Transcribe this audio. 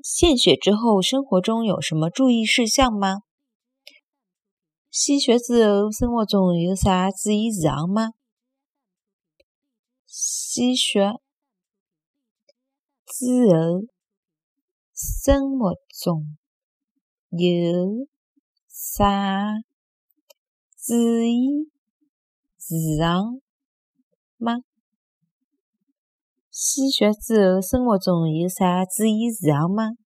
献血之后，生活中有什么注意事项吗？献血之后，生活中有啥注意事项吗？献血之后，生活中有啥注意事项吗？献血之后，生活中有啥注意事项吗？